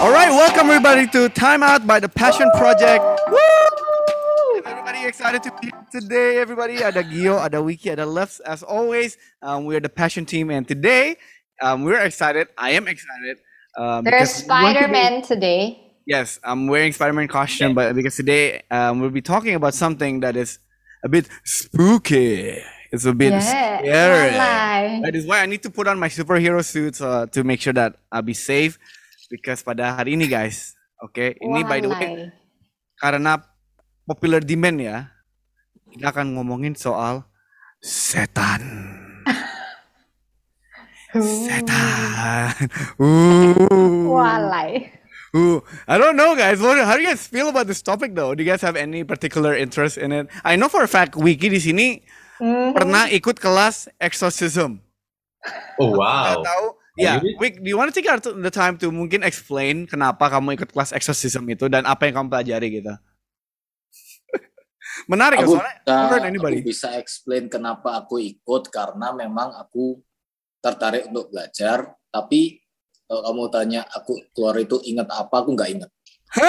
All right, welcome everybody to Time Out by the Passion Project. Woo! Everybody excited to be here today. Everybody, ada Gio, ada Wiki, ada Lefs. As always, we're the Passion team, and today we're excited. I am excited. There's Spider-Man today. Yes, I'm wearing Spider-Man costume, but because today we'll be talking about something that is a bit spooky. It's a bit scary. That is why I need to put on my superhero suits to make sure that I'll be safe. Because pada hari ini guys, ini by the way, karena popular demand ya, kita akan ngomongin soal setan. Setan. Walai. I don't know guys, how do you guys feel about this topic though? Do you guys have any particular interest in it? I know for a fact Wiki di sini pernah ikut kelas exorcism. Oh wow. Tahu? Ya, Wik, do you want to take the time to mungkin explain kenapa kamu ikut kelas exorcism itu dan apa yang kamu pelajari gitu? Menarik soalnya. Aku bisa explain kenapa aku ikut karena memang aku tertarik untuk belajar. Tapi kalau kamu tanya aku keluar itu ingat apa, aku nggak ingat.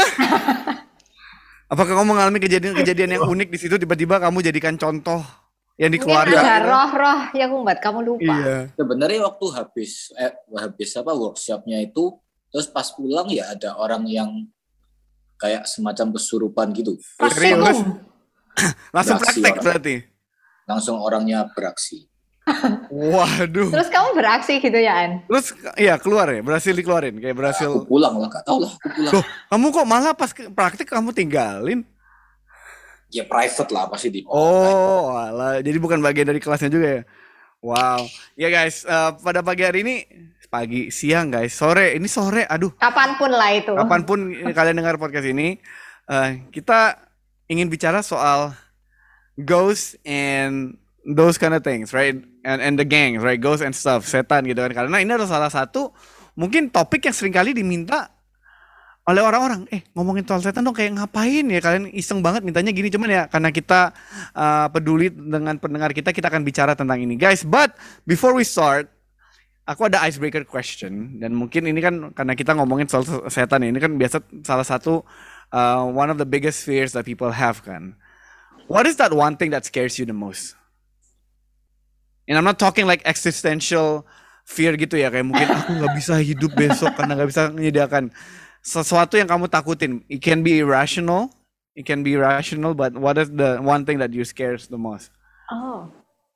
Apakah kamu mengalami kejadian yang unik di situ tiba-tiba kamu jadikan contoh yang dikeluarkan? Mungkin ada roh-roh yang membuat kamu lupa. Iya. Sebenarnya waktu habis workshopnya itu, terus pas pulang ya ada orang yang kayak semacam kesurupan gitu. Terus langsung praktek berarti. Langsung orangnya beraksi. Waduh. Terus kamu beraksi gitu ya, An? Terus iya keluar ya, berhasil dikeluarin kayak berhasil. Aku pulang lah, gak tau lah aku pulang. Loh, kamu kok malah pas praktek kamu tinggalin? Ya private lah pasti di. Oh, alah. Jadi bukan bagian dari kelasnya juga ya. Wow. Ya guys, pada pagi hari ini siang guys, sore, aduh. Kapanpun lah itu. Kapanpun kalian dengar podcast ini, kita ingin bicara soal ghosts and those kind of things, right? And the gangs, right? Ghosts and stuff, setan gitu kan. Karena ini adalah salah satu mungkin topik yang seringkali diminta oleh orang-orang, ngomongin soal setan dong kayak ngapain ya, kalian iseng banget mintanya gini, cuman ya karena kita peduli dengan pendengar kita akan bicara tentang ini guys. But before we start, aku ada icebreaker question, dan mungkin ini kan karena kita ngomongin soal setan ini kan biasa salah satu one of the biggest fears that people have kan. What is that one thing that scares you the most? And I'm not talking like existential fear gitu ya, kayak mungkin aku nggak bisa hidup besok karena nggak bisa menyediakan sesuatu yang kamu takutin. It can be irrational, but what is the one thing that you scares the most? Oh.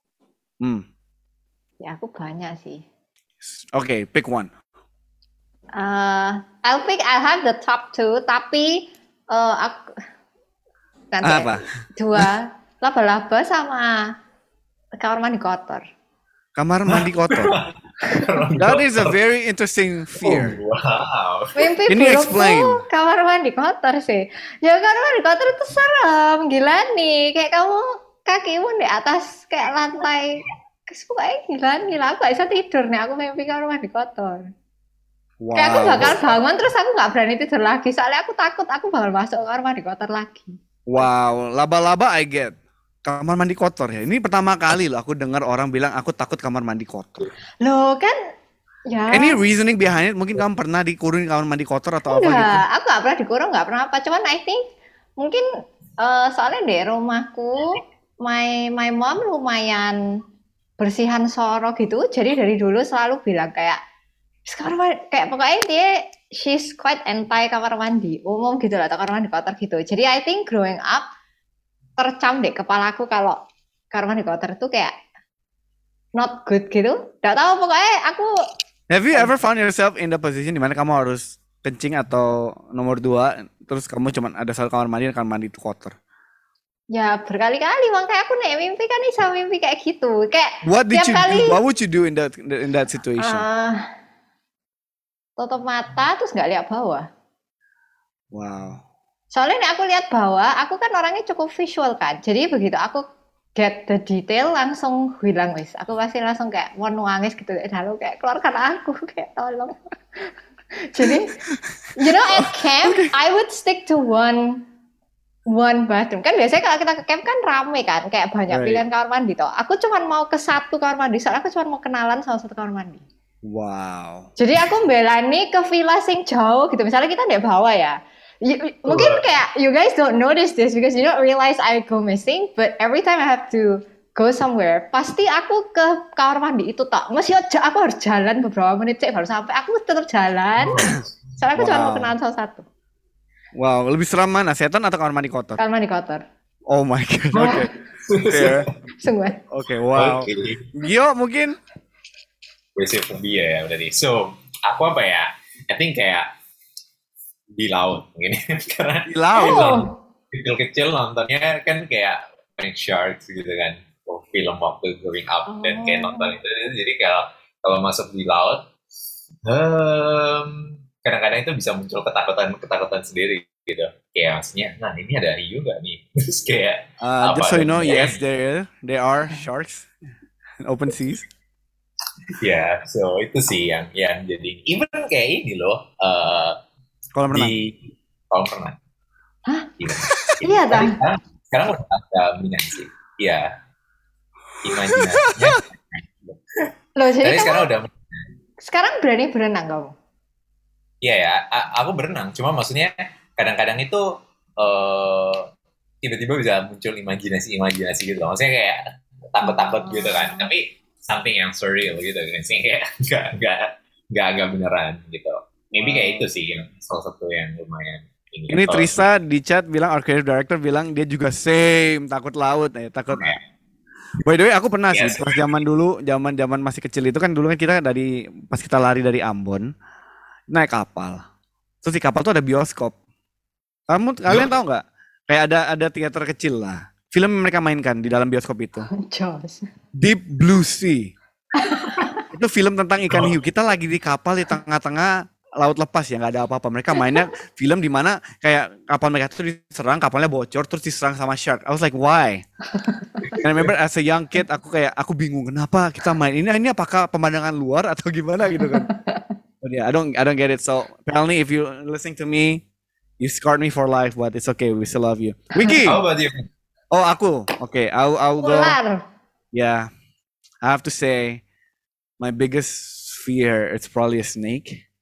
Ya aku banyak sih. Okay, pick one. I'll have the top two, tapi aku nanti apa? Dua, laba-laba sama kamar mandi kotor. Kamar mandi kotor. That is a very interesting fear. Oh, wow. Mimpi burukku kamar mandi kotor sih. Ya kamar mandi kotor itu serem, gila nih. Kayak kamu kakimu di atas kayak lantai. Pokoknya gila, aku gak bisa tidur nih. Aku mimpi kamar mandi kotor. Wow. Kayak aku bakal bangun terus aku gak berani tidur lagi. Soalnya aku takut aku bakal masuk kamar mandi kotor lagi. Wow, laba-laba I get. Kamar mandi kotor ya. Ini pertama kali loh aku dengar orang bilang aku takut kamar mandi kotor. Loh kan ya. Any reasoning behind it? Mungkin kamu pernah dikurung kamar mandi kotor atau apa gitu? Aku gak pernah dikurung, gak pernah apa. Cuman I think mungkin soalnya di rumahku my mom lumayan bersihan soro gitu. Jadi dari dulu selalu bilang kayak pokoknya she's quite anti kamar mandi umum gitu lah, atau kamar mandi kotor gitu. Jadi I think growing up tercam deh kepalaku kalau kamar mandi kotor itu kayak not good gitu. Gak tahu pokoknya aku. Have you ever found yourself in the position dimana kamu harus kencing atau nomor 2 terus kamu cuma ada satu kamar mandi dan kamar mandi itu kotor? Ya berkali-kali, makanya aku nih mimpi kan bisa mimpi kayak gitu. Kayak what would you do in that situation? Tutup mata terus nggak lihat bawah. Wow. Soalnya nih aku lihat bawah, aku kan orangnya cukup visual kan. Jadi begitu aku get the detail langsung hilang wis. Aku pasti langsung kayak mau nangis gitu. Lalu kayak keluarkan aku kayak tolong. Jadi at camp I would stick to one bathroom. Kan biasanya kalau kita ke camp kan rame kan, kayak banyak pilihan kamar mandi toh. Aku cuma mau ke satu kamar mandi, soalnya aku cuma mau kenalan sama satu kamar mandi. Wow. Jadi aku belani ke villa sing jauh gitu. Misalnya kita di bawah ya. Mungkin kayak you guys don't notice this because you don't realize I go missing, but every time I have to go somewhere, pasti aku ke kamar mandi itu tak. Mesti aku harus jalan beberapa menit cek baru sampai. Aku tetap jalan. Soalnya aku cuma mau kenalan salah satu. Wow, lebih seram mana? Setan atau kamar mandi kotor? Kamar mandi kotor. Oh my god. Oke. Fair. Sungguh. Oke, wow. Gio mungkin Basic phobia ya berarti. So, aku apa ya? I think kayak di laut mungkin. Karena di laut. Kecil-kecil nontonnya kan kayak main sharks gitu kan. Film waktu growing up dan kayak nonton itu. Jadi kalau masuk di laut, kadang-kadang itu bisa muncul ketakutan sendiri gitu. Kayak maksudnya, nah ini ada hiu nggak nih? Terus kayak just so you know, yes, there are sharks in open seas. Ya, so itu sih yang jadi even kayak ini loh kolam renang. Di kolam renang. Hah? Iya kan? Sekarang udah ada minat sih. Iya. Imajinasinya. Loh, jadi sekarang udah. Sekarang berani berenang kamu? Iya ya, aku berenang. Cuma maksudnya kadang-kadang itu tiba-tiba bisa muncul imajinasi gitu. Maksudnya kayak takut-takut gitu kan. Tapi something yang surreal gitu kan sih, kayak nggak beneran gitu. Maybe kayak itu sih yang salah satu yang lumayan ini Trisa di chat bilang, our creative director bilang dia juga same takut laut takut. By the way aku pernah sih pas zaman masih kecil itu kan dulu kan kita pas kita lari dari Ambon naik kapal, terus di kapal tuh ada bioskop. Kalian tahu nggak? Kayak ada teater kecil lah. Film yang mereka mainkan di dalam bioskop itu. Deep Blue Sea. Itu film tentang ikan hiu. Kita lagi di kapal di tengah-tengah laut lepas ya, nggak ada apa-apa. Mereka mainnya film di mana kayak kapal mereka itu diserang, kapalnya bocor, terus diserang sama shark. I was like, why? And I remember as a young kid, aku bingung kenapa kita main ini. Ini apakah pemandangan luar atau gimana gitu kan? But yeah, I don't get it. So apparently, if you listening to me, you scarred me for life, but it's okay. We still love you. Wiki. How about you? Oh, aku. Okay, I'll go. Yeah, I have to say, my biggest fear, it's probably a snake.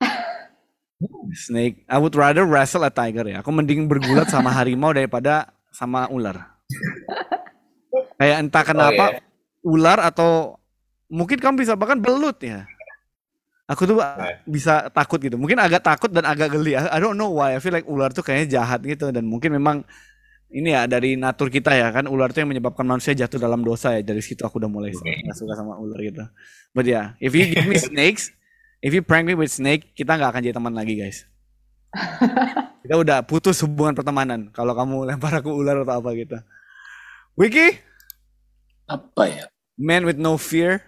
Snake. I would rather wrestle a tiger ya. Aku mending bergulat sama harimau daripada sama ular. Kayak entah kenapa ular atau mungkin kamu bisa bahkan belut ya. Aku tuh bisa takut gitu. Mungkin agak takut dan agak geli. I don't know why. I feel like ular tuh kayaknya jahat gitu dan mungkin memang ini ya dari natur kita ya kan, ular itu yang menyebabkan manusia jatuh dalam dosa ya. Dari situ aku udah mulai gak suka sama ular gitu. But yeah, if you give me snakes, if you prank me with snake, kita gak akan jadi teman lagi guys. Kita udah putus hubungan pertemanan kalau kamu lempar aku ular atau apa gitu. Wiki? Apa ya? Man with no fear?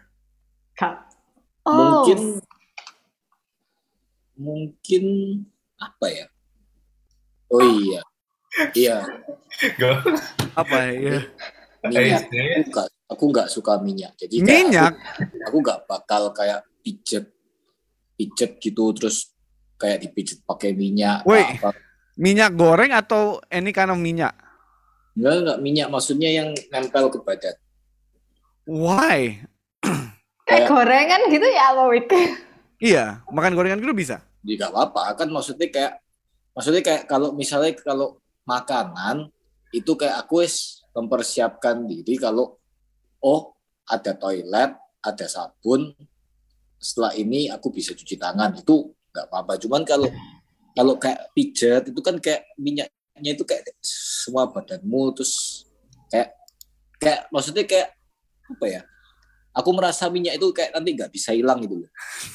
Mungkin apa ya? Oh iya. Iya. Apa ya? Minyak. Aku nggak suka minyak. Jadi minyak. Aku nggak bakal kayak pijet gitu terus kayak dipijet pakai minyak. Wait, minyak goreng atau any kind of minyak? Enggak minyak. Maksudnya yang nempel ke badan. Why? Kayak gorengan gitu ya apa Wik? Iya, makan gorengan gitu bisa. Jadi nggak apa-apa kan maksudnya kayak kalau misalnya makanan itu kayak aku mempersiapkan diri kalau ada toilet, ada sabun, setelah ini aku bisa cuci tangan itu nggak apa-apa. Cuman kalau kayak pijet itu kan kayak minyaknya itu kayak semua badanmu terus kayak maksudnya kayak apa ya? Aku merasa minyak itu kayak nanti nggak bisa hilang gitu loh.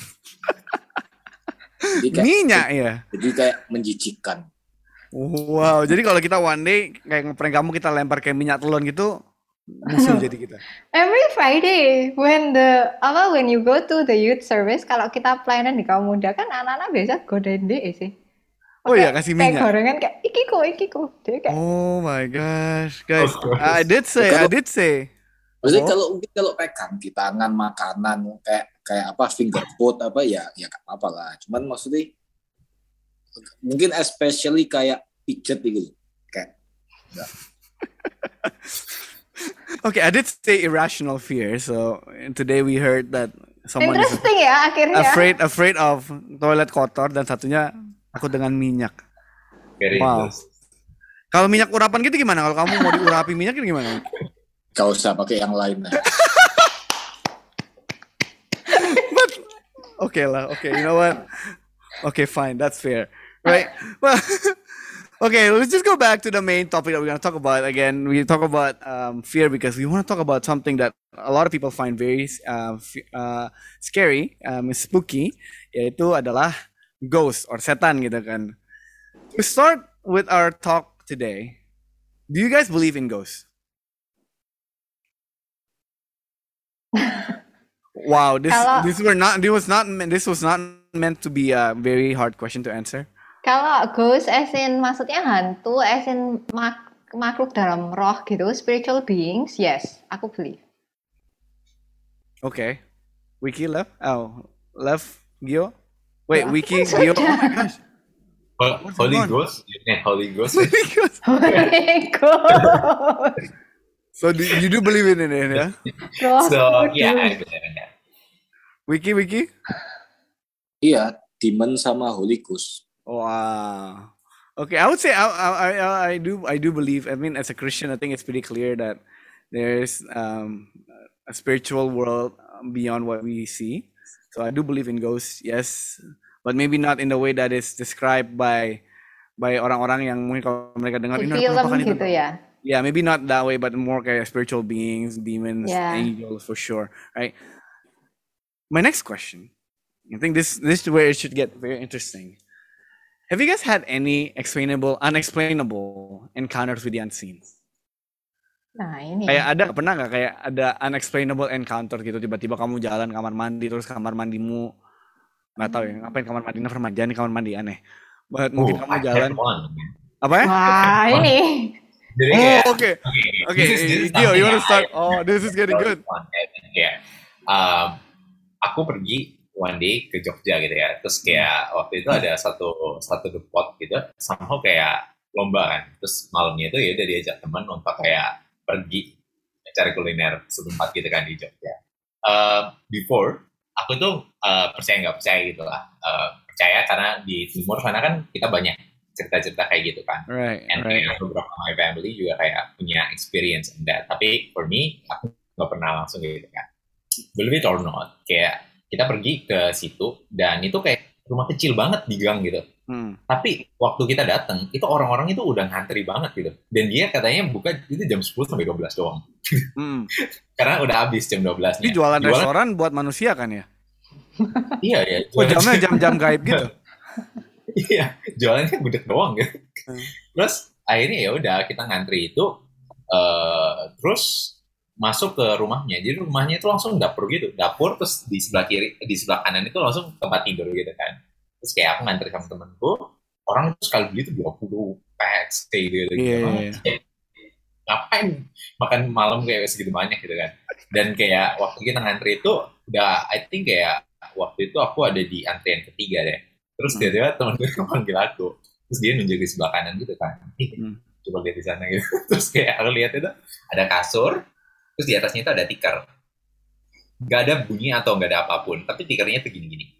Minyak ya. Jadi kayak menjijikkan. Wow, jadi kalau kita one day kayak ngeprank kamu kita lempar kayak minyak telon gitu, musuh jadi kita. Every Friday when you go to the youth service, kalau kita pelayanan di kaum muda kan anak-anak biasa godain deh sih. Oh iya kasih minyak. Kayak gorengan kayak ikiko. Kayak, oh my gosh, guys, I did say. Maksudnya kalau pegang di tangan makanan kayak apa finger food apa ya nggak apa-apa lah. Cuman maksudnya mungkin especially kayak pijet gitu kayak enggak. Okay, I did say irrational fear. So today we heard that someone is Interesting ya akhirnya. afraid of toilet kotor dan satunya takut dengan minyak. Very Wow. interesting. Kalau minyak urapan gitu gimana? Kalau kamu mau diurapi minyak itu gimana? Gak usah pakai yang lain lah. Okay lah. Okay, you know what? Okay, fine. That's fair. Right? Well, okay, let's just go back to the main topic that we're going to talk about. Again, we talk about fear because we want to talk about something that a lot of people find very scary, spooky, yaitu adalah ghost or setan gitu kan. To start with our talk today, do you guys believe in ghosts? Wow, this was not meant to be a very hard question to answer. Kalau ghost as in maksudnya hantu, as in makhluk dalam roh gitu, spiritual beings, yes, aku believe. Okay. Wiki left? Oh, left Gio? Wait, Aku Wiki, kan Gio? sudah. Oh my gosh. Holy going on? Ghost? Holy Ghost? Oh my god. So you do believe in it, yeah? Roh So, kudus. yeah, I believe in that. Wiki? Iya, demon sama Holy Ghost. Wow. Okay, I would say I do believe. I mean, as a Christian, I think it's pretty clear that there's a spiritual world beyond what we see. So I do believe in ghosts, yes, but maybe not in the way that is described by orang-orang yang mungkin kalau mereka dengar Di ini film penampakan itu. gitu ya. Yeah, maybe not that way, but more kayak spiritual beings, demons, Yeah. angels for sure, right? My next question, I think this is where it should get very interesting. Have you guys had any unexplainable encounters with the unseen? Nah ini. Pernah nggak kayak ada unexplainable encounter gitu, tiba-tiba kamu jalan kamar mandi terus kamar mandimu nggak tahu ya ngapain kamar mandi, never mind, jangan di kamar mandi aneh. But mungkin kamu I jalan had one. apa ya? Wah ini. Jadi Oh, kayak, okay. Okay, this is Gio, you something want to start? I- Oh, this is getting good. Kayak, aku pergi one day ke Jogja gitu ya. Terus kayak waktu itu ada satu depot gitu, somehow kayak lomba kan. Terus malamnya itu ya udah diajak teman untuk kayak pergi cari kuliner setempat gitu kan di Jogja. Before aku tuh percaya nggak percaya gitu lah. Percaya karena di timur sana kan kita banyak cerita-cerita kayak gitu kan. Right, And right. kayak beberapa my family juga kayak punya experience in that. Tapi for me, aku nggak pernah langsung gitu kan. Believe it or not, kayak kita pergi ke situ dan itu kayak rumah kecil banget di gang gitu. Tapi waktu kita datang, itu orang-orang itu udah ngantri banget gitu. Dan dia katanya buka itu jam 10 sampai 12 doang. Karena udah habis jam 12-nya. Ini jualan restoran buat manusia kan ya? Iya, ya. Oh, jamnya jam-jam gaib gitu. Iya, jualannya gudeg doang gitu. Terus akhirnya ya udah kita ngantri itu, terus masuk ke rumahnya. Jadi rumahnya itu langsung dapur gitu, dapur terus di sebelah kiri, di sebelah kanan itu langsung tempat tidur gitu kan. Terus kayak aku ngantri sama temenku, orang itu sekali beli itu 20 pack stay gitu. Iya. Ngapain makan malam kayak segitu banyak gitu kan. Dan kayak waktu kita ngantri itu udah, I think kayak waktu itu aku ada di antrian ketiga deh. Terus dia temen gue panggil aku, terus dia nunjuk di sebelah kanan gitu kan, coba lihat di sana gitu. Terus kayak aku lihat itu ada kasur, terus di atasnya itu ada tikar, nggak ada bunyi atau nggak ada apapun, tapi tikernya tuh gini-gini.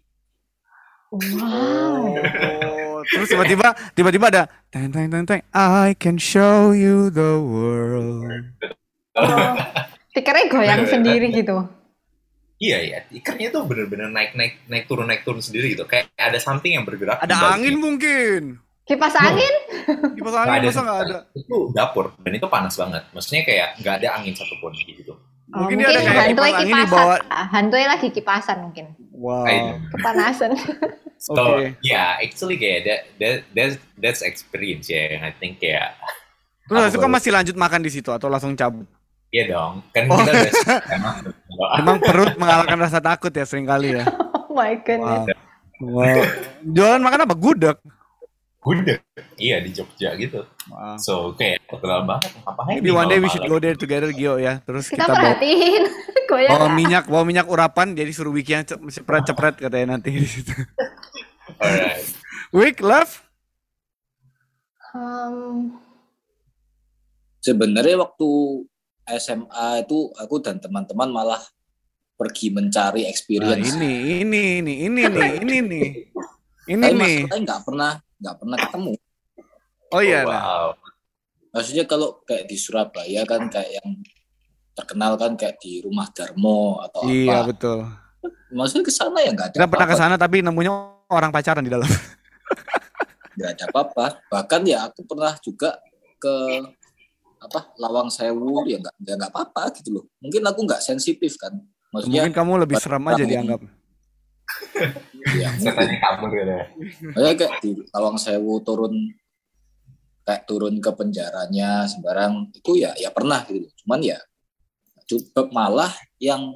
Wow. Oh, terus tiba-tiba ada teng teng teng teng, I can show you the world. Oh, tikernya goyang sendiri gitu. Iya, tikernya tuh bener-bener naik turun sendiri gitu, kayak ada something yang bergerak. di Ada baliknya. angin mungkin. Kipas angin? Kipas angin masa nggak ada? Itu dapur dan itu panas banget, maksudnya kayak nggak ada angin satupun gitu. Oh, Mungkin dia ada kayak hantunya kipas angin di kipasan. bawah. Hantunya lagi kipasan mungkin. Wow. Kepanasan. So Okay. yeah, actually kayak that's experience ya, yang I think kayak. Terus itu kan masih lanjut makan di situ atau langsung cabut? Iya dong, kan Oh. kita udah Emang perut mengalahkan rasa takut ya seringkali ya. Oh my goodness. Wow. Jualan makan apa? Gudeg. gudeg. Iya di Jogja gitu. Wow. So kayak terkenal banget. Ngapain Maybe nih one day we malam-malam? should go there together, Gio ya. Terus Kita kita bawa, perhatiin. Goyang nggak? bawa minyak urapan, jadi suruh Wiki yang cepret katanya nanti di situ. Alright. Wik, love? Hmm, Sebenarnya waktu SMA itu aku dan teman-teman malah pergi mencari Nah, experience. ini nih. Ini Tapi nih. masalahnya nggak pernah ketemu. Oh iya, nah. Wow. Maksudnya kalau kayak di Surabaya kan kayak yang terkenal kan kayak di Rumah Darmo atau Iya, apa. betul. Maksudnya ke sana ya nggak ada Kita pernah ke apa-apa. sana tapi nemunya orang pacaran di dalam. Nggak ada apa-apa. Bahkan ya aku pernah juga ke Lawang Sewu ya nggak apa-apa gitu loh. Mungkin aku nggak sensitif kan. Maksudnya Mungkin kamu lebih serem aja dianggap. ya, Setannya kabur gitu ya. maksudnya kayak di Lawang Sewu turun ke penjaranya sembarang itu ya pernah gitu. Cuman ya coba malah yang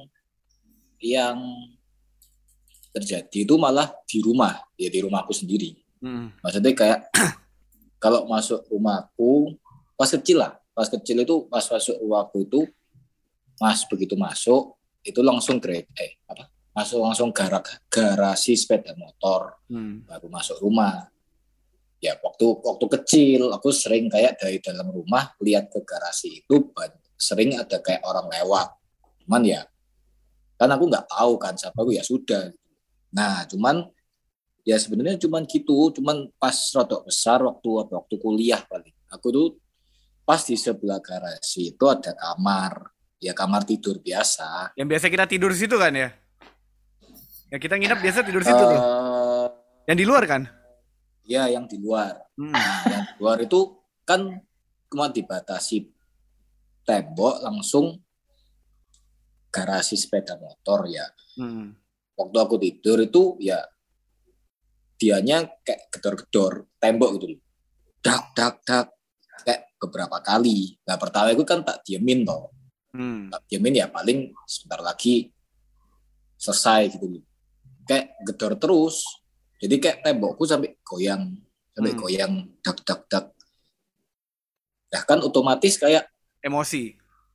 terjadi itu malah di rumahku sendiri. Maksudnya kayak kalau masuk rumahku pas kecil itu pas masuk rumahku itu begitu masuk itu langsung masuk langsung garasi sepeda motor baru masuk rumah. Ya waktu kecil aku sering kayak dari dalam rumah lihat ke garasi itu sering ada kayak orang lewat. Cuman ya kan aku nggak tahu kan siapa aku ya sudah. Nah cuman ya sebenarnya cuman gitu. Cuman pas rodok besar waktu kuliah paling. Aku tuh pas di sebelah garasi itu ada kamar. Ya kamar tidur biasa. Yang biasa kita tidur di situ kan ya? Ya kita nginep biasa tidur di situ tuh. Yang di luar kan? Ya yang di luar. Yang di luar itu kan cuma dibatasi tembok langsung garasi sepeda motor ya. Waktu aku tidur itu ya dianya kayak gedor-gedor tembok gitu. Dak kayak beberapa kali. Nah pertama itu kan tak diemin toh. Tak diemin ya paling sebentar lagi selesai gitu. Kayak gedor terus. Jadi kayak tembokku sampai goyang dak. Nah kan otomatis kayak emosi.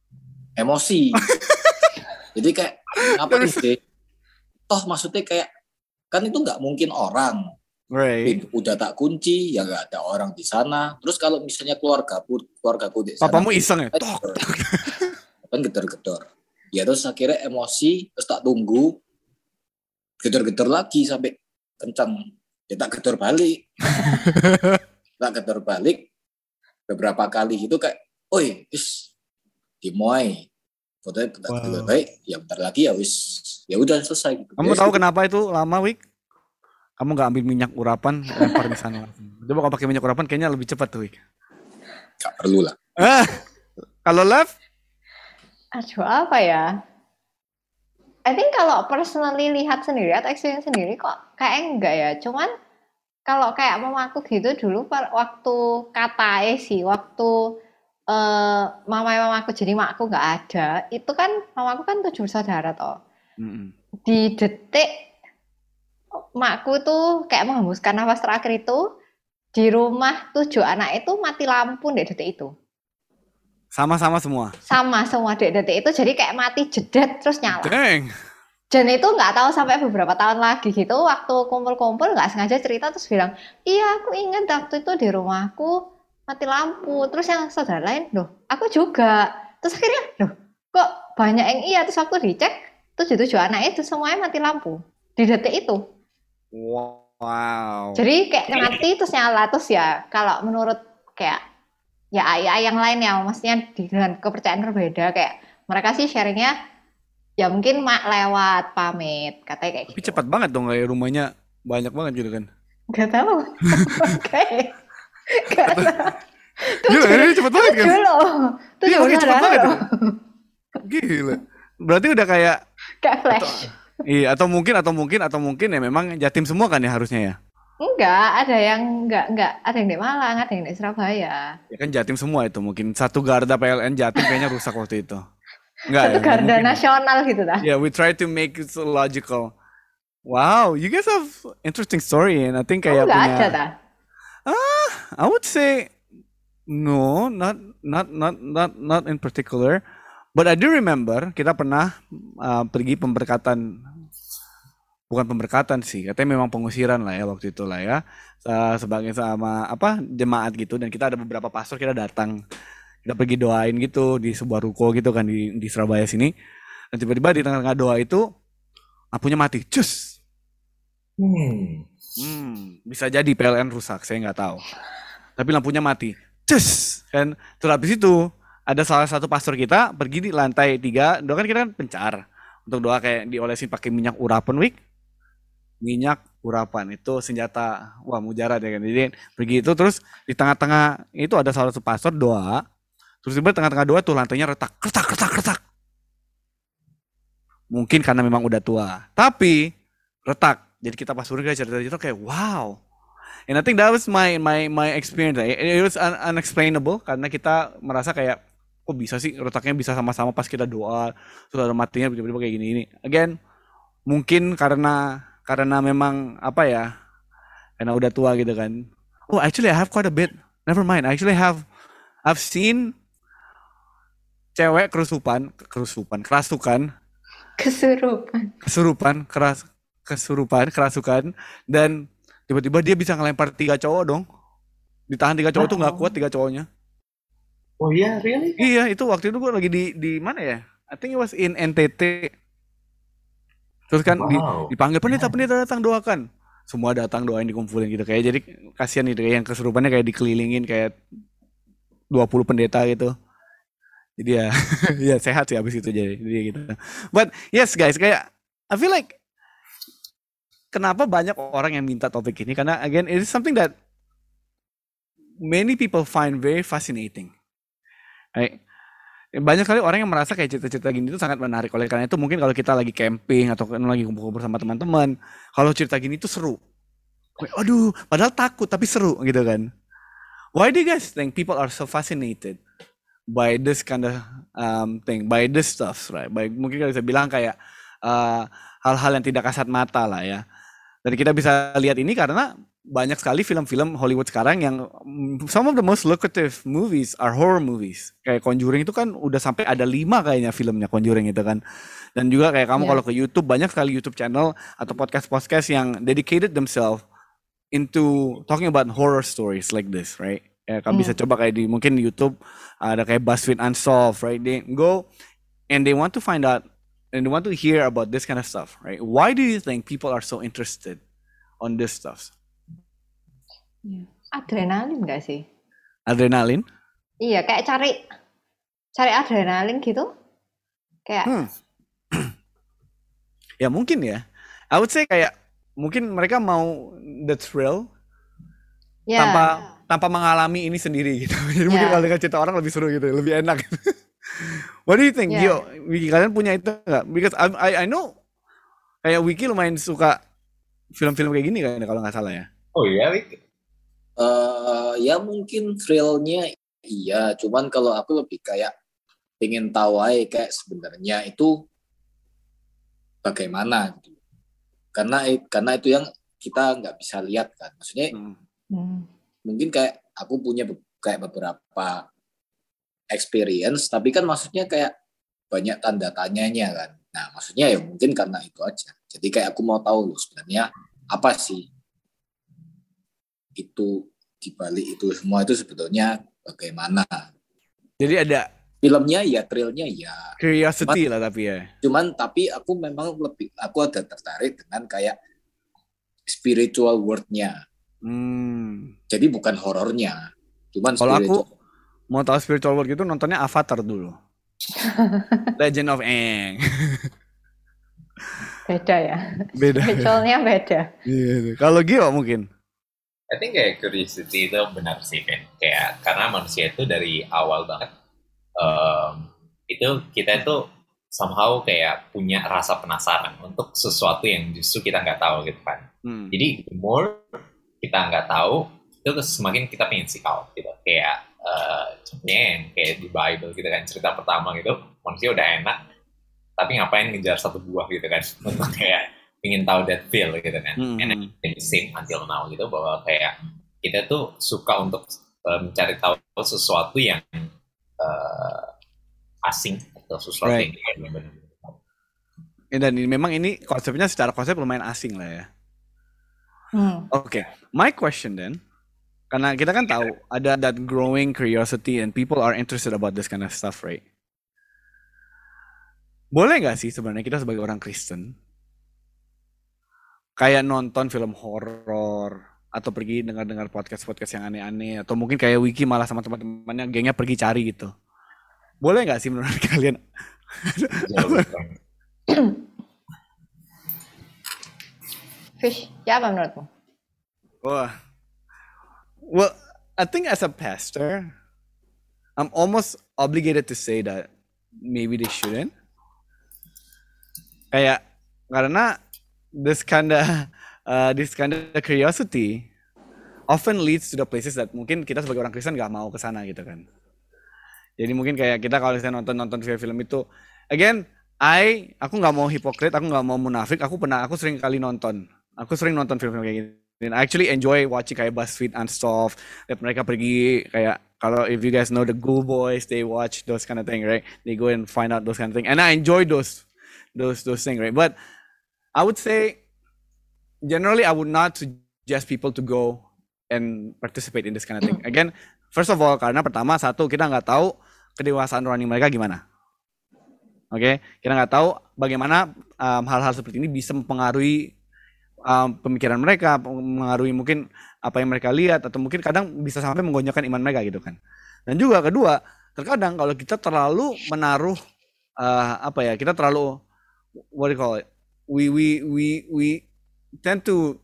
Jadi kayak ngapain sih? Toh maksudnya kayak kan itu nggak mungkin orang. Right. Udah tak kunci, ya nggak ada orang di sana. Terus kalau misalnya keluargaku di sana. Papamu iseng ya? Kan gedor-gedor. Ya terus akhirnya emosi, terus tak tunggu. Gedor-gedor lagi sampai kencang. Ya tak gedor balik. Beberapa kali gitu kayak, oi, dimoy. Fotonya baik, ya bentar lagi ya udah selesai gitu. Kamu tahu kenapa itu lama, Wik? Kamu nggak ambil minyak urapan, lempar di sana langsung. Coba kalau pakai minyak urapan kayaknya lebih cepat tuh, Wik. Gak perlu lah. Kalau Love? Aduh, apa ya? I think kalau personally lihat sendiri atau experience sendiri kok kayak enggak ya. Cuman kalau kayak mamaku gitu dulu waktu katae sih, waktu mamaku jadi makku nggak ada, itu kan mamaku kan 7 bersaudara toh. Di detik makku tuh kayak menghembuskan nafas terakhir itu di rumah 7 anak itu mati lampu di detik itu. Sama-sama semua. Sama semua di detik itu, jadi kayak mati jedet terus nyala. Dang. Dan itu nggak tahu sampai beberapa tahun lagi gitu, waktu kumpul-kumpul nggak sengaja cerita terus bilang, iya aku ingat waktu itu di rumahku mati lampu. Terus yang saudara lain, loh aku juga. Terus akhirnya, loh kok banyak yang iya. Terus waktu dicek, 7 anak itu semuanya mati lampu di detik itu. Wow. Jadi kayak mati terus nyala. Terus ya kalau menurut kayak ya ayah yang lain ya, maksudnya dengan kepercayaan berbeda, kayak mereka sih sharingnya ya mungkin mak lewat pamit katanya kayak. Tapi cepat banget dong, kayak rumahnya banyak banget gitu kan? Gak tahu. Oke. Gak tahu. Gila, ini cepet banget kan? Iya, cepet banget. Gila. Berarti udah kayak flash. Iya, atau mungkin ya memang jatim semua kan ya harusnya ya? Enggak, ada yang enggak, ada yang di Malang, ada yang di Surabaya. Ya kan jatim semua itu, mungkin satu garda PLN jatim kayaknya rusak waktu itu. Enggak satu ya? garda nasional gitu dah. Yeah, we try to make it so logical. Wow, you guys have interesting story, and I think kayak enggak punya. Ada dah. I would say no, not in particular. But I do remember kita pernah pergi pemberkatan. Bukan pemberkatan sih, katanya memang pengusiran lah ya waktu itu lah ya, sebagai sama jemaat gitu, dan kita ada beberapa pastor, kita datang Kita pergi doain gitu di sebuah ruko gitu kan di Surabaya sini. Dan tiba-tiba di tengah-tengah doa itu lampunya mati. Cus. Bisa jadi PLN rusak, saya nggak tahu. Tapi lampunya mati. Cus. Kan terus habis itu ada salah satu pastor kita pergi di lantai 3, doa kan kita kan pencar. Untuk doa kayak diolesin pakai minyak urapan, Wik. Minyak urapan itu senjata mujarab ya kan. Jadi pergi itu terus di tengah-tengah itu ada salah satu pastor doa. Terus tiba tengah-tengah doa tuh lantainya retak. Mungkin karena memang udah tua. Tapi retak. Jadi kita pas surga cerita-cerita kayak wow. And I think that was my experience. It was unexplainable karena kita merasa kayak kok bisa sih retaknya bisa sama-sama pas kita doa. Terus ada matinya tiba-tiba kayak gini. Again, mungkin karena memang apa ya? Karena udah tua gitu kan. Oh, actually I have quite a bit. Never mind. Actually I've seen cewek kerasukan, kerasukan dan tiba-tiba dia bisa ngelempar 3 cowok dong. Ditahan 3 cowok tuh nggak kuat 3 cowoknya. Oh iya, really? Iya, itu waktu itu gue lagi di mana ya? I think it was in NTT. Terus kan dipanggil pendeta datang doakan. Semua datang doain dikumpulin gitu kayak jadi kasihan nih kayak yang kesurupannya kayak dikelilingin kayak 20 pendeta gitu. Jadi ya ya sehat sih abis itu jadi gitu. But yes guys, kayak I feel like kenapa banyak orang yang minta topik ini karena again it is something that many people find very fascinating. Right? Banyak sekali orang yang merasa kayak cerita-cerita gini itu sangat menarik. Oleh karena itu mungkin kalau kita lagi camping atau lagi kumpul-kumpul bersama teman-teman, kalau cerita gini itu seru. Aduh, padahal takut tapi seru gitu kan. Why do you guys think people are so fascinated by this kind of thing, by this stuff, right? Mungkin kalau bisa bilang kayak hal-hal yang tidak kasat mata lah ya. Dan kita bisa lihat ini karena banyak sekali film-film Hollywood sekarang yang some of the most lucrative movies are horror movies. Kayak Conjuring itu kan udah sampai ada 5 kayaknya filmnya Conjuring itu kan. Dan juga kayak kamu kalau ke YouTube banyak sekali YouTube channel atau podcast yang dedicated themselves into talking about horror stories like this, right? Ya, kamu bisa coba kayak mungkin di YouTube ada kayak BuzzFeed Unsolved, right? They go and they want to find out and they want to hear about this kind of stuff, right? Why do you think people are so interested on this stuff? Adrenalin nggak sih? Adrenalin? Iya, kayak cari adrenalin gitu. Kayak ya mungkin ya. I would say kayak mungkin mereka mau the thrill tanpa mengalami ini sendiri gitu. Jadi mungkin kalau dengan cerita orang lebih seru gitu, lebih enak. What do you think, Gio? Wiki, kalian punya itu nggak? Because I know kayak Wiki lumayan suka film-film kayak gini kan kalau nggak salah ya. Oh iya, Wiki. Ya mungkin thrillnya iya, cuman kalau aku lebih kayak pengen tahu aja kayak sebenarnya itu bagaimana gitu. Karena itu yang kita nggak bisa lihat kan, maksudnya mungkin kayak aku punya kayak beberapa experience, tapi kan maksudnya kayak banyak tanda tanyanya kan. Nah maksudnya ya mungkin karena itu aja. Jadi kayak aku mau tahu loh sebenarnya apa sih itu dibalik itu semua itu sebetulnya bagaimana. Jadi ada filmnya ya, thrillnya ya. Curiosity lah tapi ya. Tapi aku memang aku ada tertarik dengan kayak spiritual world-nya. Jadi bukan horornya. Cuman kalau aku mau tahu spiritual world gitu nontonnya Avatar dulu. Legend of Aang. Beda ya. Beda. Spiritualnya beda. Iya. Kalau Gio mungkin. I think kayak curiosity itu benar sih kan. Kayak karena manusia itu dari awal banget itu kita itu somehow kayak punya rasa penasaran untuk sesuatu yang justru kita nggak tahu gitu kan. Jadi the more kita nggak tahu itu semakin kita pengen seek out gitu. Kayak contohnya yang kayak di Bible gitu kan, cerita pertama gitu manusia udah enak tapi ngapain ngejar satu buah gitu kan untuk kayak ingin tahu that feel gitu kan. And the same until now gitu bahwa kayak kita tuh suka untuk mencari tahu sesuatu yang asing atau sesuatu yang benar-benar. Dan memang ini konsepnya secara konsep lumayan asing lah ya. Okay, my question then, Karena kita kan tahu ada that growing curiosity and people are interested about this kind of stuff, right? Boleh nggak sih sebenarnya kita sebagai orang Kristen kayak nonton film horor atau pergi dengar podcast yang aneh-aneh atau mungkin kayak Wiki malah sama teman-temannya gengnya pergi cari gitu. Boleh nggak sih menurut kalian? Fish, ya apa menurutmu? Wah. Well, I think as a pastor, I'm almost obligated to say that maybe they shouldn't. Kayak karena this kind of curiosity often leads to the places that mungkin kita sebagai orang Kristen nggak mau ke sana gitu kan. Jadi mungkin kayak kita kalau misalnya nonton film itu, again, aku nggak mau hipokrit, aku nggak mau munafik, aku sering kali nonton film-film kayak gini. And I actually enjoy watching kayak BuzzFeed and stuff. Lihat mereka pergi kayak kalau if you guys know the Ghoul Boys, they watch those kind of thing, right? They go and find out those kind of thing, and I enjoy those things, right? But I would say generally I would not suggest people to go and participate in this kind of thing. Again, first of all, karena pertama satu kita nggak tahu kedewasaan rohani mereka gimana. Oke, kita nggak tahu bagaimana hal-hal seperti ini bisa mempengaruhi pemikiran mereka, mengaruhi mungkin apa yang mereka lihat atau mungkin kadang bisa sampai menggonjangkan iman mereka gitu kan. Dan juga kedua, terkadang kalau kita terlalu menaruh kita terlalu what do you call it? We tend to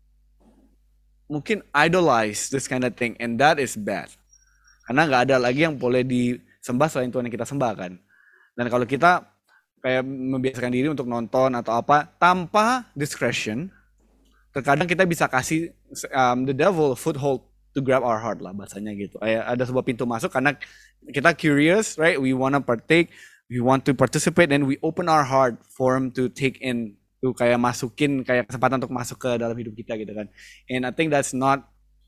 mungkin idolize this kind of thing and that is bad. Karena nggak ada lagi yang boleh disembah selain Tuhan yang kita sembah kan. Dan kalau kita kayak membiasakan diri untuk nonton atau apa tanpa discretion, terkadang kita bisa kasih the devil foothold to grab our heart lah bahasanya gitu. Ada sebuah pintu masuk karena kita curious, right? We wanna partake, we want to participate, and we open our heart for him to take in, to kayak masukin kayak kesempatan untuk masuk ke dalam hidup kita gitu kan. And I think that's not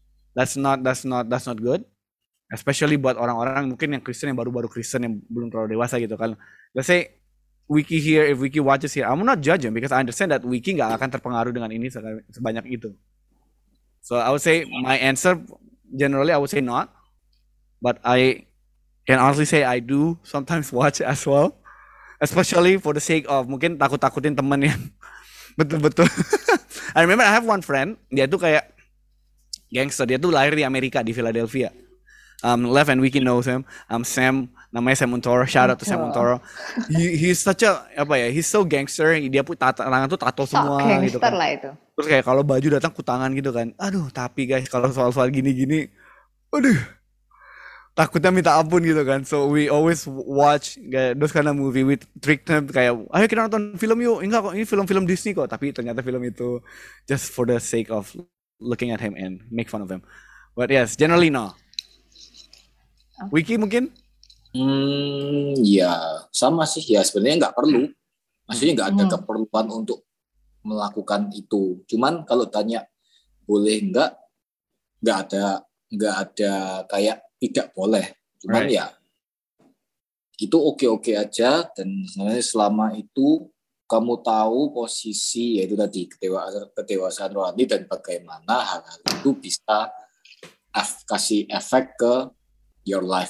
good. Especially buat orang-orang mungkin yang Kristen yang baru-baru Kristen yang belum terlalu dewasa gitu kan. Let's say Wiki here, if Wiki watches here, I'm not judging because I understand that Wiki nggak akan terpengaruh dengan ini sebanyak itu. So I would say my answer generally I would say not, but I can honestly say I do sometimes watch as well, especially for the sake of mungkin takut-takutin temen yang betul-betul. I remember I have one friend, dia tuh kayak gangster, dia tuh lahir di Amerika di Philadelphia. Lev and Wiki knows him. Sam, namanya Sam Montoro. Shout out to Sam Montoro. He's such a he's so gangster. Dia pun tangan tuh tato semua gitu kan. Lah itu. Terus kayak kalau baju datang kutangan gitu kan. Aduh, tapi guys kalau soal-soal gini-gini, aduh, takutnya minta ampun gitu kan. So we always watch those kind of movie with trick them kayak, ayo kita nonton film yuk. Enggak kok, ini film-film Disney kok. Tapi ternyata film itu just for the sake of looking at him and make fun of him. But yes, generally no. Wiki mungkin? Ya sama sih ya, sebenarnya nggak perlu, maksudnya nggak ada keperluan untuk melakukan itu. Cuman kalau tanya boleh nggak ada kayak tidak boleh. Cuman ya itu oke aja, dan sebenarnya selama itu kamu tahu posisi yaitu tadi kedewasaan rohani dan bagaimana hal-hal itu bisa kasih efek ke your life.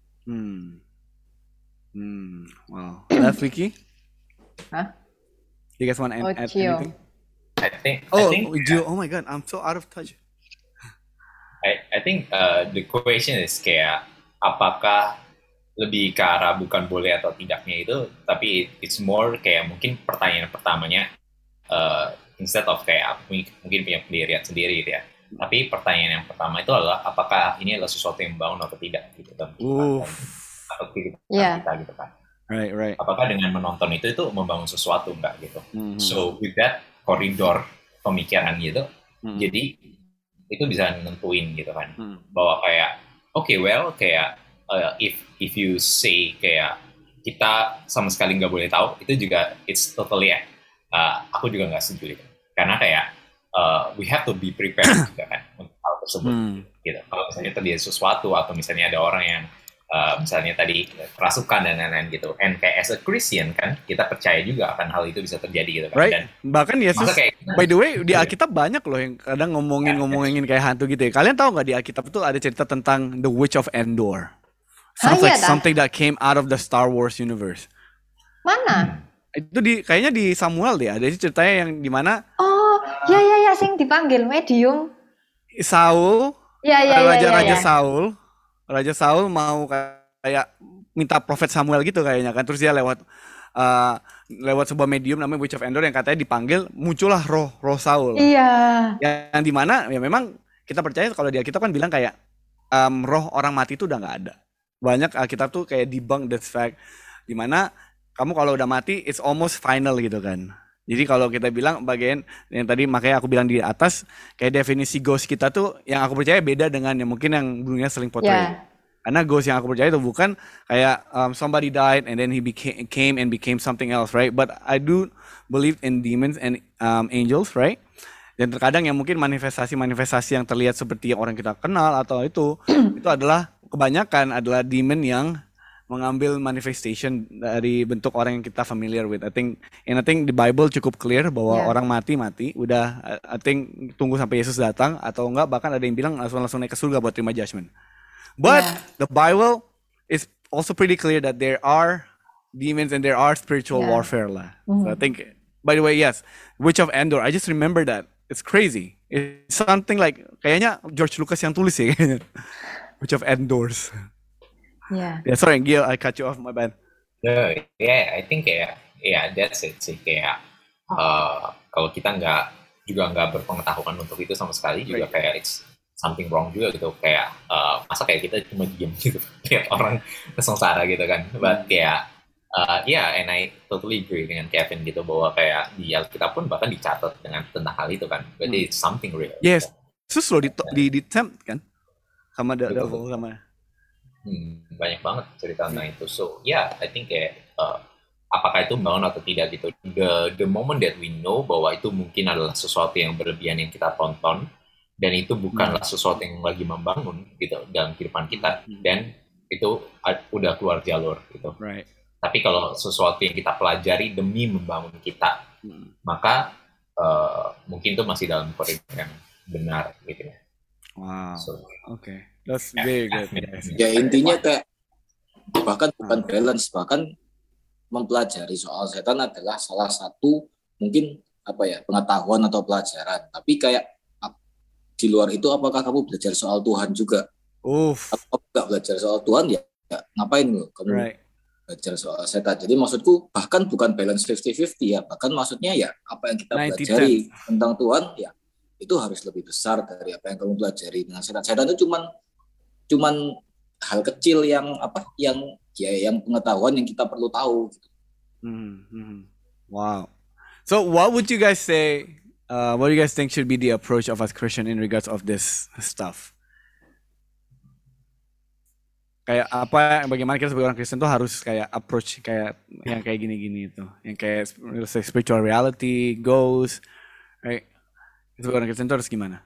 Wow. Left Wiki? Huh? You guys want to add anything? I think. Gio. Oh my god, I'm so out of touch. I think the question is kayak apakah lebih ke arah bukan boleh atau tidaknya itu, tapi it's more kayak mungkin pertanyaan pertamanya instead of kayak mungkin punya pendirian sendiri gitu ya. Tapi pertanyaan yang pertama itu adalah apakah ini adalah sesuatu yang membangun atau tidak gitu kan? Atau kehidupan kita gitu kan? Right. Apakah dengan menonton itu membangun sesuatu enggak gitu? So with that koridor pemikiran gitu, jadi itu bisa nentuin gitu kan, bahwa kayak kayak if you say kayak kita sama sekali nggak boleh tahu, itu juga it's totally aku juga nggak setuju gitu. Karena kayak we have to be prepared juga kan untuk hal tersebut gitu. Kalau misalnya terjadi sesuatu atau misalnya ada orang yang misalnya tadi kerasukan dan lain-lain gitu, and kayak as a Christian kan kita percaya juga akan hal itu bisa terjadi gitu kan. Right. Dan bahkan Yesus By the way, di Alkitab banyak loh yang kadang ngomongin kayak hantu gitu ya. Kalian tahu nggak di Alkitab itu ada cerita tentang The Witch of Endor? Sounds iya like dah. something that came out of the Star Wars universe. Mana? Itu kayaknya di Samuel deh. Ada ceritanya yang dimana Oh, ya, sing dipanggil medium. Saul, Ya. Raja Raja Saul mau kayak minta Prophet Samuel gitu kayaknya kan. Terus dia lewat sebuah medium namanya Witch of Endor yang katanya dipanggil, muncullah roh Saul. Iya. Yang dimana ya memang kita percaya kalau di Alkitab kan bilang kayak roh orang mati itu udah nggak ada. Banyak Alkitab tuh kayak debunk that fact, dimana kamu kalau udah mati it's almost final gitu kan. Jadi kalau kita bilang bagian yang tadi makanya aku bilang di atas kayak definisi ghost kita tuh yang aku percaya beda dengan yang mungkin yang dunia sering portray. Ya. Karena ghost yang aku percaya itu bukan kayak somebody died and then he became something else, right? But I do believe in demons and angels, right? Dan terkadang yang mungkin manifestasi yang terlihat seperti yang orang kita kenal atau itu adalah kebanyakan adalah demon yang mengambil manifestation dari bentuk orang yang kita familiar with. I think the Bible cukup clear bahwa orang mati udah I think tunggu sampai Yesus datang atau enggak bahkan ada yang bilang langsung naik ke surga buat terima judgment. But the Bible is also pretty clear that there are demons and there are spiritual warfare lah. So I think, by the way, yes, Witch of Endor. I just remember that. It's crazy. It's something like kayaknya George Lucas yang tulis ya kayaknya. Witch of Endors. Yeah, sorry, Gil, I cut you off, my bad. No, I think that's it sih kayak kalau kita nggak berpengetahuan untuk itu sama sekali juga kayak it's something wrong juga gitu kayak masa kayak kita cuma diam gitu lihat orang sengsara gitu kan, but kayak and I totally agree dengan Kevin gitu bahwa kayak di Alkitab pun bahkan dicatat dengan tentang hal itu kan, berarti it's something real. Yes, terus lo di tempt kan sama devil sama. Banyak banget cerita tentang itu. So I think kayak apakah itu membangun atau tidak gitu. The moment that we know bahwa itu mungkin adalah sesuatu yang berlebihan yang kita tonton dan itu bukanlah sesuatu yang lagi membangun gitu dalam kehidupan kita, dan itu udah keluar jalur gitu. Right. Tapi kalau sesuatu yang kita pelajari demi membangun kita, maka mungkin itu masih dalam koridor yang benar gitu ya. Wow. Okay. That's very good. Ya intinya kayak bahkan bukan balance, bahkan mempelajari soal setan adalah salah satu mungkin pengetahuan atau pelajaran. Tapi kayak di luar itu apakah kamu belajar soal Tuhan juga? Kalau kamu nggak belajar soal Tuhan ya ngapain lo kamu belajar soal setan? Jadi maksudku bahkan bukan balance 50-50 ya, bahkan maksudnya ya apa yang kita pelajari tentang Tuhan ya itu harus lebih besar dari apa yang kamu pelajari dengan setan. Setan itu cuman hal kecil yang pengetahuan yang kita perlu tahu. Wow. So what would you guys say? What do you guys think should be the approach of us Christian in regards of this stuff? Kayak bagaimana kita sebagai orang Kristen tuh harus kayak approach kayak yang kayak gini-gini itu, yang kayak spiritual reality, ghost, right? Sebagai orang Kristen tuh harus gimana?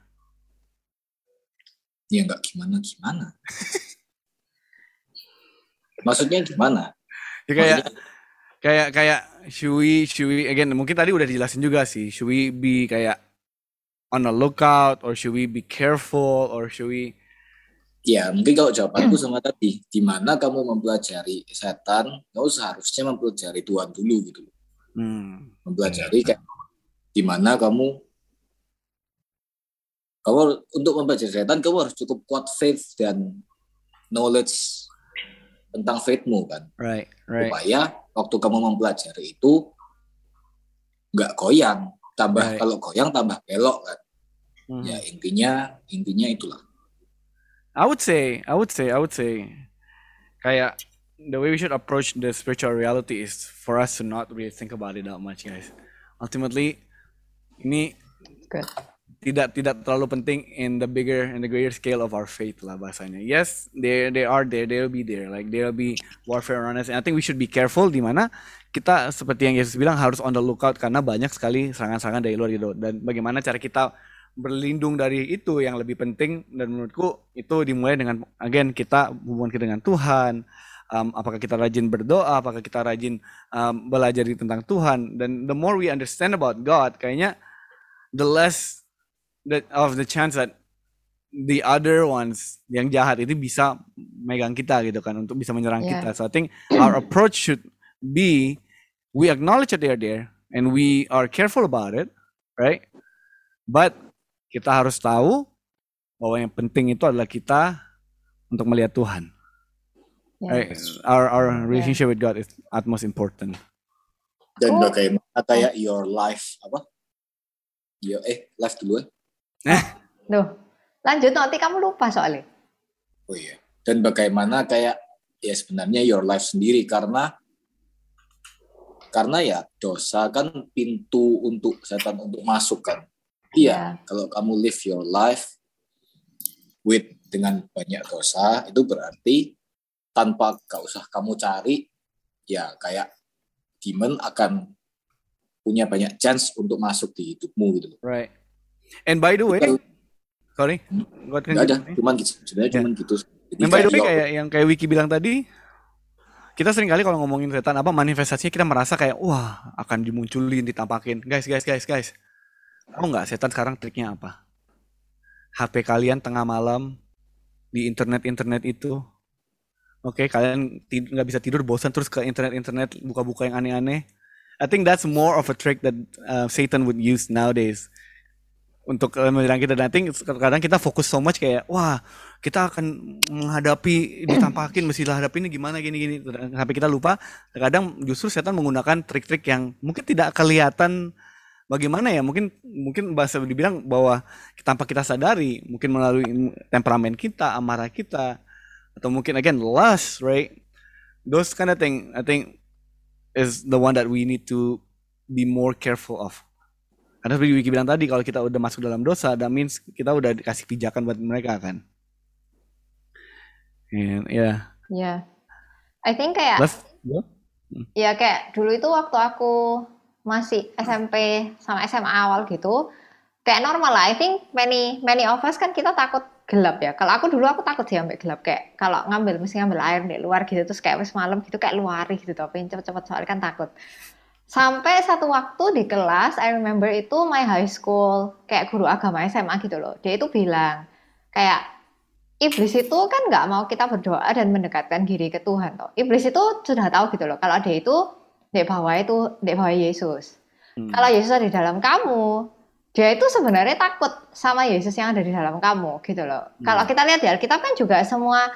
Ya nggak gimana. Maksudnya gimana? Ya kayak should we again mungkin tadi udah dijelasin juga sih. Should we be kayak on the lookout or should we be careful or should we? Ya mungkin kalau jawabanku sama tadi, di mana kamu mempelajari setan, kamu seharusnya mempelajari Tuhan dulu gitu. Mempelajari kayak di mana kamu untuk mempelajari setan kamu harus cukup kuat faith dan knowledge tentang faithmu kan. Right. Supaya waktu kamu mempelajari itu nggak goyang, kalau goyang tambah belok kan. Ya intinya itulah. I would say kayak the way we should approach the spiritual reality is for us to not really think about it that much, guys. Ultimately ini tidak terlalu penting in the greater scale of our faith lah bahasanya. Yes, they will be there, like there will be warfare around us, and I think we should be careful di mana kita seperti yang Yesus bilang harus on the lookout karena banyak sekali serangan-serangan dari luar gitu, dan bagaimana cara kita berlindung dari itu yang lebih penting, dan menurutku itu dimulai dengan again kita hubungan kita dengan Tuhan. Apakah kita rajin berdoa, apakah kita rajin belajar tentang Tuhan, dan the more we understand about God kayaknya the less of the chance that the other ones yang jahat itu bisa megang kita gitu kan, untuk bisa menyerang Yeah. kita. So I think our approach should be, we acknowledge that they are there and we are careful about it, right? But kita harus tahu bahwa yang penting itu adalah kita untuk melihat Tuhan. Yeah. Right? Our relationship with God is utmost important. Dan Aku- bagaimana kayak your life life dulu ya. Loh, lanjut nanti kamu lupa soalnya. Oh iya. Dan bagaimana kayak ya sebenarnya your life sendiri, karena ya dosa kan pintu untuk setan untuk masuk kan. Iya, kalau kamu live your life dengan banyak dosa, itu berarti tanpa gak usah kamu cari, ya kayak demon akan punya banyak chance untuk masuk di hidupmu gitu. Right. And by the way, sorry, Nggak ada, cuman gitu. Sebenarnya cuman gitu. Jadi and by the way kayak, kayak yang Wiki bilang tadi, kita sering kali kalau ngomongin setan apa manifestasinya kita merasa kayak wah akan dimunculin, ditampakin. Guys. Tahu nggak setan sekarang triknya apa? HP kalian tengah malam di internet itu. Oke, kalian nggak bisa tidur, bosan terus ke internet buka-buka yang aneh-aneh. I think that's more of a trick that Satan would use nowadays untuk menyerang kita. Dan I think kadang kita fokus so much kayak wah kita akan menghadapi, ditampakin, mesti hadapi ini gimana gini. Sampai kita lupa. Kadang justru setan menggunakan trik-trik yang mungkin tidak kelihatan bagaimana ya. Mungkin bahasa dibilang bahwa tanpa kita sadari, mungkin melalui temperamen kita, amarah kita, atau mungkin again lust, right? Those kind of thing I think is the one that we need to be more careful of. Karena seperti Wiki bilang tadi, kalau kita udah masuk dalam dosa, that means kita udah dikasih pijakan buat mereka kan. And yeah. Yeah. I think kayak ya kayak dulu itu waktu aku masih SMP sama SMA awal gitu, kayak normal lah. I think many of us kan kita takut gelap ya. Kalau aku dulu aku takut sih sampai gelap, kayak kalau mesti ngambil air di luar gitu terus kayak wis malam gitu kayak luari gitu, tapi cepet-cepet soalnya kan takut. Sampai satu waktu di kelas, I remember itu my high school kayak guru agama SMA gitu loh. Dia itu bilang kayak iblis itu kan nggak mau kita berdoa dan mendekatkan diri ke Tuhan toh. Iblis itu sudah tahu gitu loh kalau dia itu di bawah Yesus. Kalau Yesus ada di dalam kamu, dia itu sebenarnya takut sama Yesus yang ada di dalam kamu gitu loh. Kalau kita lihat di Alkitab kan juga semua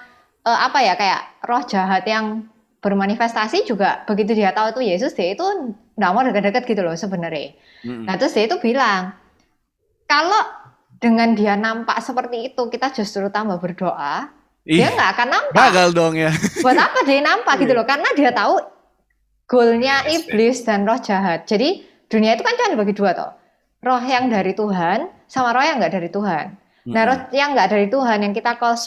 kayak roh jahat yang bermanifestasi juga begitu dia tahu itu Yesus, dia itu nggak mau dekat-dekat gitu loh sebenarnya. Nah terus dia itu bilang kalau dengan dia nampak seperti itu kita justru tambah berdoa, dia nggak akan nampak. Gagal dong ya. Buat apa dia nampak gitu loh? Karena dia tahu goalnya iblis dan roh jahat. Jadi dunia itu kan cuma dibagi dua toh. Roh yang dari Tuhan sama roh yang nggak dari Tuhan. Nah roh yang nggak dari Tuhan yang kita call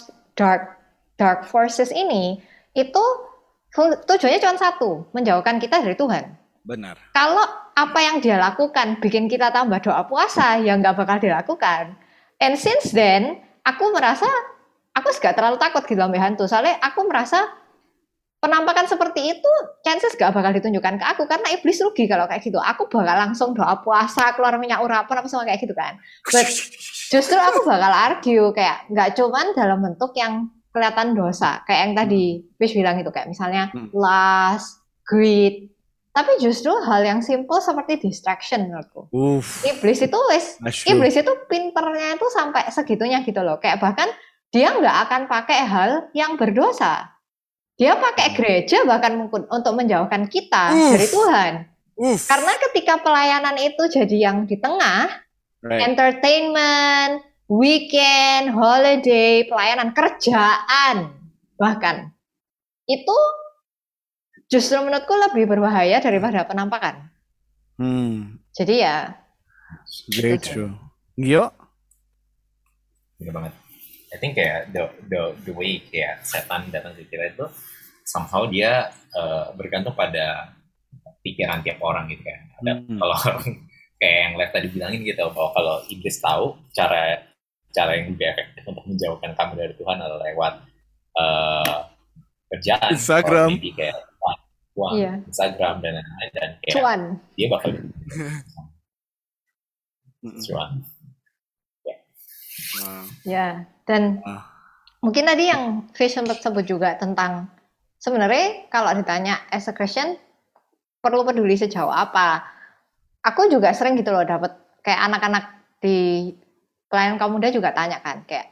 dark forces ini itu tujuannya cuma satu, menjauhkan kita dari Tuhan. Benar. Kalau apa yang dia lakukan bikin kita tambah doa puasa, ya nggak bakal dilakukan. And since then, aku merasa aku gak terlalu takut gitu ambil hantu. Soalnya aku merasa penampakan seperti itu chances gak bakal ditunjukkan ke aku karena iblis rugi kalau kayak gitu. Aku bakal langsung doa puasa, keluar minyak urapan apa semua kayak gitu kan. But justru aku bakal argue kayak nggak cuman dalam bentuk yang kelihatan dosa kayak yang tadi Wish bilang itu kayak misalnya lust, greed, tapi justru hal yang simple seperti distraction menurutku. Iblis itu pinternya itu sampai segitunya gitu loh, kayak bahkan dia nggak akan pakai hal yang berdosa, dia pakai gereja bahkan mungkin untuk menjauhkan kita dari Tuhan. Karena ketika pelayanan itu jadi yang di tengah, entertainment, weekend, holiday, pelayanan, kerjaan, bahkan itu justru menurutku lebih berbahaya daripada penampakan. Jadi ya. Very true. Gio? Bener banget. I think kayak the way kayak setan datang ke kita itu somehow dia bergantung pada pikiran tiap orang gitu kan. Kalau kayak yang Lev tadi bilangin gitu, bahwa kalau iblis tahu cara yang lebih efektif untuk menjauhkan kamu dari Tuhan adalah lewat kerjaan, Instagram, kayak uang, Instagram dan lain-lain, dan kayak cuan. dia bakal Cuman Wow. Ya, dan Ah. mungkin tadi yang Fish sempat sebut juga tentang sebenarnya kalau ditanya as a Christian perlu peduli sejauh apa. Aku juga sering gitu loh dapat kayak anak-anak di pelayan kaum muda juga tanya kan kayak,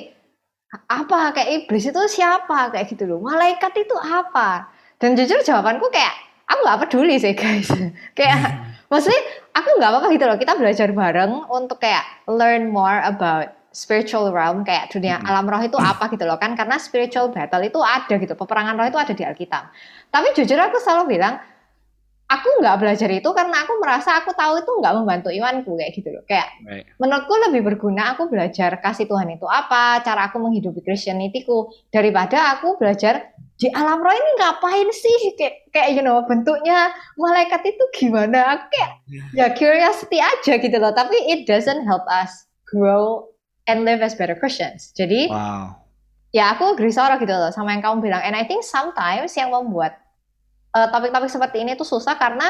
apa kayak iblis itu siapa kayak gitu loh, malaikat itu apa? Dan jujur jawabanku kayak aku nggak peduli sih guys. Kayak maksudnya aku nggak apa-apa gitu loh, kita belajar bareng untuk kayak learn more about spiritual realm, kayak dunia alam roh itu apa gitu loh kan, karena spiritual battle itu ada gitu, peperangan roh itu ada di Alkitab. Tapi jujur aku selalu bilang aku nggak belajar itu karena aku merasa aku tahu itu nggak membantu imanku kayak gitu loh. Kayak Right. menurutku lebih berguna aku belajar kasih Tuhan itu apa, cara aku menghidupi Christianity-ku, daripada aku belajar di alam roh ini ngapain sih, kayak bentuknya malaikat itu gimana. Aku kayak ya curiosity aja gitu loh, tapi it doesn't help us grow and live as better Christians. Jadi Wow. ya aku agree Sarah gitu loh sama yang kamu bilang, and I think sometimes yang membuat topik-topik seperti ini tuh susah karena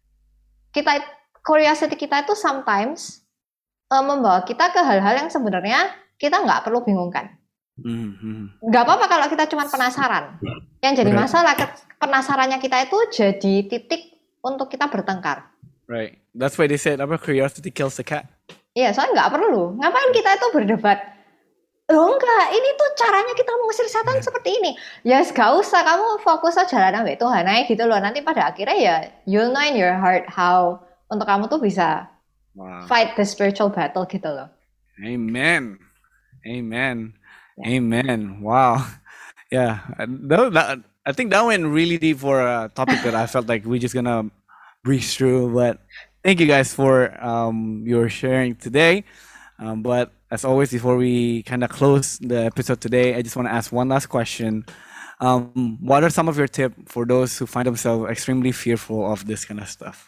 curiosity kita itu sometimes membawa kita ke hal-hal yang sebenarnya kita nggak perlu bingungkan. Nggak apa-apa kalau kita cuma penasaran. Yang jadi Right. masalah penasarannya kita itu jadi titik untuk kita bertengkar. Right. That's why they said curiosity kills the cat. Iya, soalnya nggak perlu. Ngapain kita itu berdebat? Loh enggak, ini tuh caranya kita mengusir setan seperti ini. Ya gak usah, kamu fokus aja jalan sama Tuhan aja gitu loh. Nanti pada akhirnya ya you'll know in your heart how untuk kamu tuh bisa Wow. fight the spiritual battle gitu loh. Amen. Amen. Amen. Wow. Yeah. I think that went really deep for a topic that I felt like we're just gonna breeze through. But thank you guys for your sharing today. But as always, before we kind of close the episode today, I just want to ask one last question. What are some of your tips for those who find themselves extremely fearful of this kind of stuff?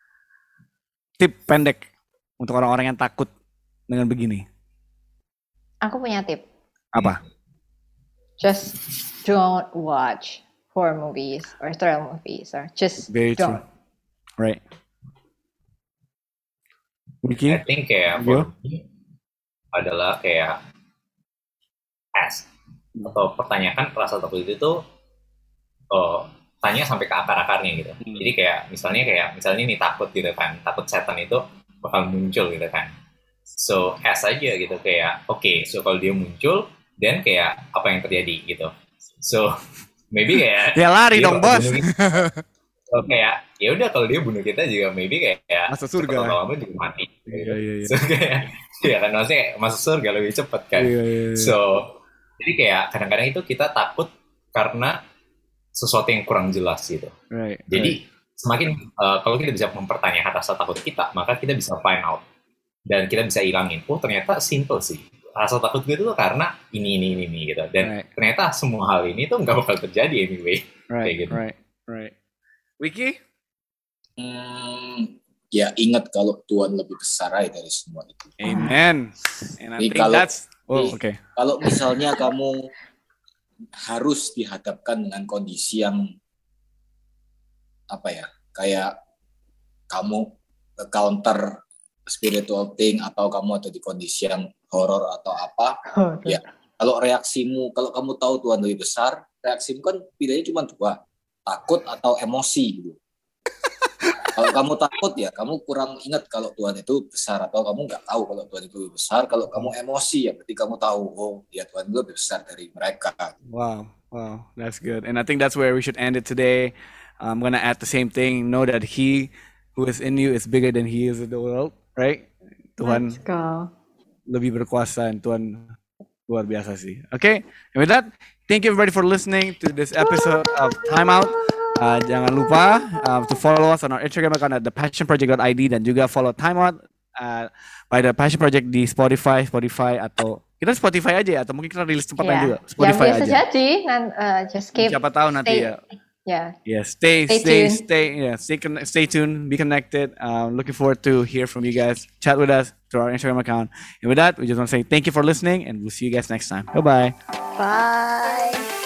Tip pendek untuk orang-orang yang takut dengan begini. Aku punya tip. Apa? Just don't watch horror movies or thriller movies or just Very true. don't. Right. Vicky? I think kayak Yo. for me adalah kayak ask atau pertanyakan rasa takut itu tuh tanya sampai ke akar-akarnya gitu. Jadi kayak misalnya nih takut gitu kan, takut setan itu bakal muncul gitu kan. So ask aja gitu kayak oke, so kalau dia muncul dan kayak apa yang terjadi gitu. So maybe kayak Ya lari dia dong, bakal bos. bunuh kita. So kayak ya udah kalau dia bunuh kita juga maybe kayak Masuk surga. lama juga mati. Gitu. Iya. So kayak ya kan maksudnya masuk surga lebih cepet kan. Iya. So jadi kayak kadang-kadang itu kita takut karena sesuatu yang kurang jelas gitu. Right. Jadi semakin kalau kita bisa mempertanyakan rasa takut kita, maka kita bisa find out dan kita bisa hilangin. Oh ternyata simple sih. Rasa takut gue itu tuh karena ini gitu. Dan Right. ternyata semua hal ini tuh nggak bakal terjadi anyway. Right. Kayak gitu. Right. Wiki? Ya ingat kalau Tuhan lebih besar aja dari semua itu. Amen. And I Jadi think kalau- that's okay. Kalau misalnya kamu harus dihadapkan dengan kondisi yang kayak kamu counter spiritual thing atau kamu ada di kondisi yang horor atau apa, ya kalau kalau kamu tahu Tuhan lebih besar, reaksimu kan pilihannya cuma dua, takut atau emosi gitu. Kalau kamu takut ya kamu kurang ingat kalau Tuhan itu besar, atau kamu nggak tahu kalau Tuhan itu lebih besar. Kalau kamu emosi ya berarti kamu tahu, oh ya Tuhan itu lebih besar dari mereka. Wow, that's good. And I think that's where we should end it today. I'm gonna add the same thing. Know that He who is in you is bigger than He is in the world, right? Tuhan Let's go. lebih berkuasa, dan Tuhan luar biasa sih. Okay, and with that, thank you everybody for listening to this episode of Time Out. Jangan lupa to follow us on our Instagram account at thepassionproject.id, dan juga follow Time Out by The Passion Project di Spotify atau kita Spotify aja ya, atau mungkin kita rilis tempat lain juga. Yang Spotify biasa aja. jadi, just keep Siapa tahu nanti stay- ya. Yeah. Yeah, Stay tuned. stay tuned, be connected. Looking forward to hear from you guys. Chat with us through our Instagram account. And with that, we just want to say thank you for listening, and we'll see you guys next time. Bye-bye. Bye.